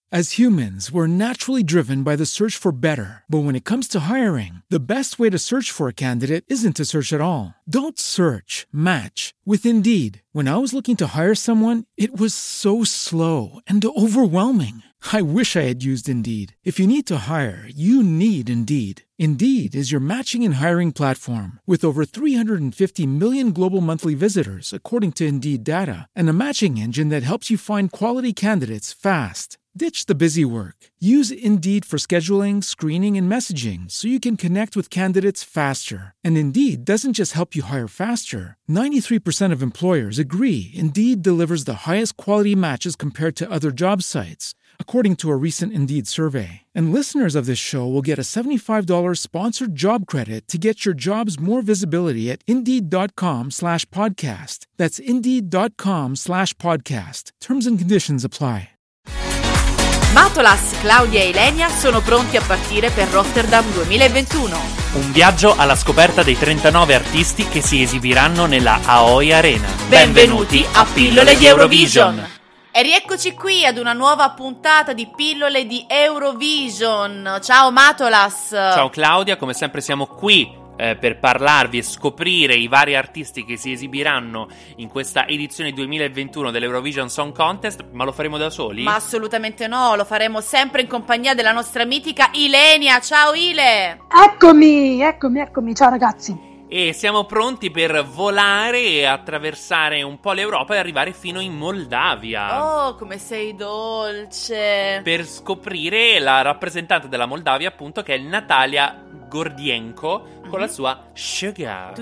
As humans, we're naturally driven by the search for better. But when it comes to hiring, the best way to search for a candidate isn't to search at all. Don't search, match with Indeed. When I was looking to hire someone, it was so slow and overwhelming. I wish I had used Indeed. If you need to hire, you need Indeed. Indeed is your matching and hiring platform with over 350 million global monthly visitors, according to Indeed data, and a matching engine that helps you find quality candidates fast. Ditch the busy work. Use Indeed for scheduling, screening, and messaging so you can connect with candidates faster. And Indeed doesn't just help you hire faster. 93% of employers agree Indeed delivers the highest quality matches compared to other job sites, according to a recent Indeed survey. And listeners of this show will get a $75 sponsored job credit to get your jobs more visibility at Indeed.com/podcast. That's Indeed.com/podcast. Terms and conditions apply. Matolas, Claudia e Ilenia sono pronti a partire per Rotterdam 2021. Un viaggio alla scoperta dei 39 artisti che si esibiranno nella Aoi Arena. Benvenuti a Pillole di Eurovision. E rieccoci qui ad una nuova puntata di Pillole di Eurovision. Ciao Matolas. Ciao Claudia, come sempre siamo qui per parlarvi e scoprire i vari artisti che si esibiranno in questa edizione 2021 dell'Eurovision Song Contest. Ma lo faremo da soli? Ma assolutamente no, lo faremo sempre in compagnia della nostra mitica Ilenia. Ciao Ile. Eccomi, ciao ragazzi. E siamo pronti per volare e attraversare un po' l'Europa e arrivare fino in Moldavia. Oh, come sei dolce. Per scoprire la rappresentante della Moldavia, appunto, che è Natalia Gordienko, con la sua Sugar.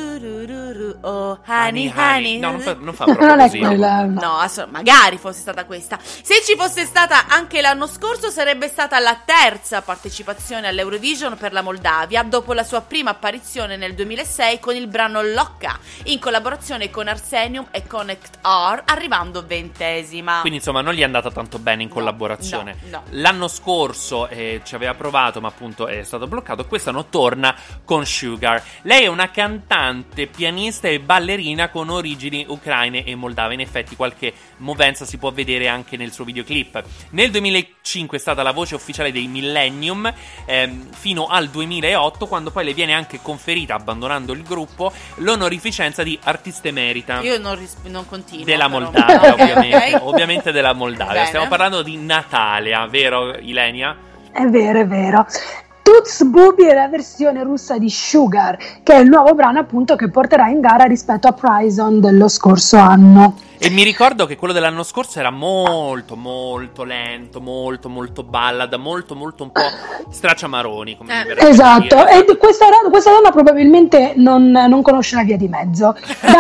Oh, honey. No, non fa proprio così. No, magari fosse stata questa. Se ci fosse stata anche l'anno scorso, sarebbe stata la terza partecipazione all'Eurovision per la Moldavia, dopo la sua prima apparizione nel 2006 con il brano Locca, in collaborazione con Arsenium e Connect R, arrivando 20ª. Quindi insomma non gli è andata tanto bene in collaborazione. No. L'anno scorso ci aveva provato, ma appunto è stato bloccato. Quest'anno torna con Sugar. Lei è una cantante, pianista e ballerina con origini ucraine e moldave. In effetti qualche movenza si può vedere anche nel suo videoclip. Nel 2005 è stata la voce ufficiale dei Millennium fino al 2008, quando poi le viene anche conferita, abbandonando il gruppo, l'onorificenza di artista emerita. Io non continuo della però. Moldavia, ovviamente. Okay. Ovviamente della Moldavia. Bene. Stiamo parlando di Natalia, vero Ilenia? È vero. Toots Booby è la versione russa di Sugar, che è il nuovo brano appunto che porterà in gara rispetto a Prison dello scorso anno. E mi ricordo che quello dell'anno scorso era molto lento, molto ballad, molto un po' stracciamaroni, come mi verrebbe Esatto, da dire. e questa donna probabilmente non conosce la via di mezzo.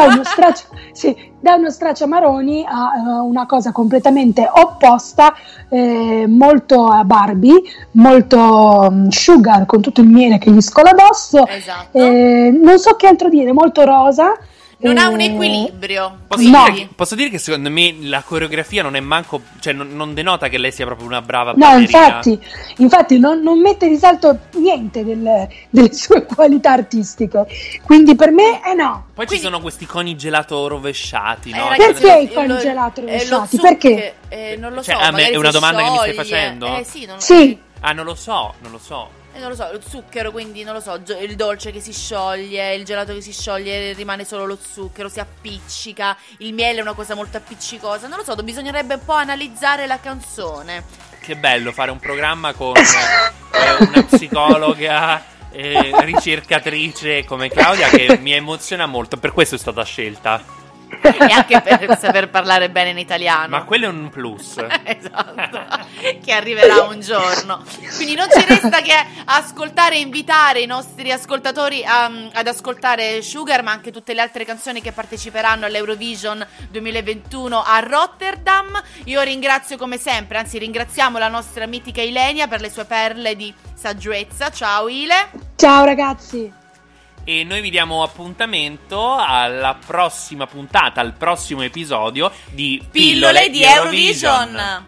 Da uno stracciamaroni a una cosa completamente opposta, molto Barbie, molto Sugar con tutto il miele che gli scola addosso. Esatto. Non so che altro dire, molto rosa. Non ha un equilibrio. Posso dire che secondo me la coreografia non è manco, cioè non denota che lei sia proprio una brava No, ballerina. infatti non mette in risalto niente delle sue qualità artistiche. Quindi per me no. Poi ci sono questi coni gelato rovesciati, no? Ragazzi, Perché i coni gelato rovesciati? Perché? Non lo Cioè, so. a me magari è una si domanda che mi stai scioglie. facendo? Sì. Ah, non lo so. Non lo so, lo zucchero, quindi non lo so, il dolce che si scioglie, il gelato che si scioglie, rimane solo lo zucchero, si appiccica, il miele è una cosa molto appiccicosa, non lo so, bisognerebbe un po' analizzare la canzone. Che bello fare un programma con una psicologa ricercatrice come Claudia, che mi emoziona molto, per questo è stata scelta. E anche per saper parlare bene in italiano. Ma quello è un plus. Esatto, che arriverà un giorno. Quindi non ci resta che ascoltare e invitare i nostri ascoltatori ad ascoltare Sugar, ma anche tutte le altre canzoni che parteciperanno all'Eurovision 2021 a Rotterdam. Io ringrazio come sempre, anzi ringraziamo la nostra mitica Ilenia per le sue perle di saggezza. Ciao Ile. Ciao ragazzi. E noi vi diamo appuntamento alla prossima puntata, al prossimo episodio di Pillole di Eurovision.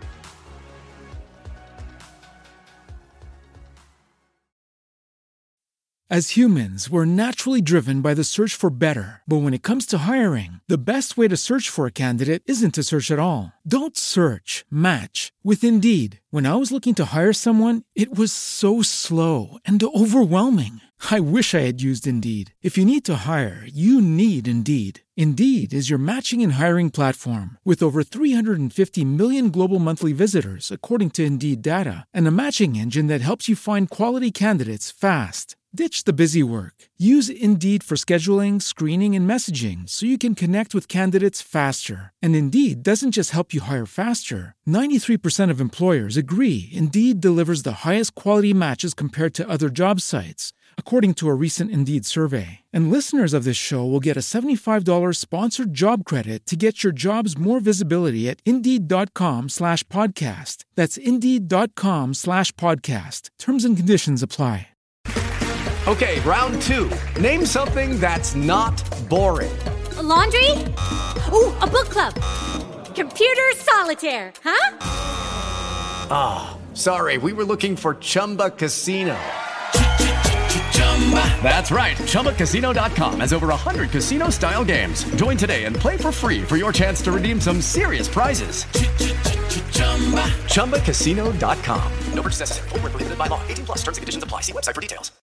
As humans, we're naturally driven by the search for better. But when it comes to hiring, the best way to search for a candidate isn't to search at all. Don't search, match with Indeed. When I was looking to hire someone, it was so slow and overwhelming. I wish I had used Indeed. If you need to hire, you need Indeed. Indeed is your matching and hiring platform with over 350 million global monthly visitors, according to Indeed data, and a matching engine that helps you find quality candidates fast. Ditch the busy work. Use Indeed for scheduling, screening, and messaging so you can connect with candidates faster. And Indeed doesn't just help you hire faster. 93% of employers agree Indeed delivers the highest quality matches compared to other job sites, according to a recent Indeed survey. And listeners of this show will get a $75 sponsored job credit to get your jobs more visibility at Indeed.com/podcast. That's Indeed.com/podcast. Terms and conditions apply. Okay, round two. Name something that's not boring. A laundry? Ooh, a book club. Computer solitaire, huh? Ah, sorry, we were looking for Chumba Casino. That's right, ChumbaCasino.com has over 100 casino-style games. Join today and play for free for your chance to redeem some serious prizes. ChumbaCasino.com. No purchase necessary. Void where prohibited by law. 18+ terms and conditions apply. See website for details.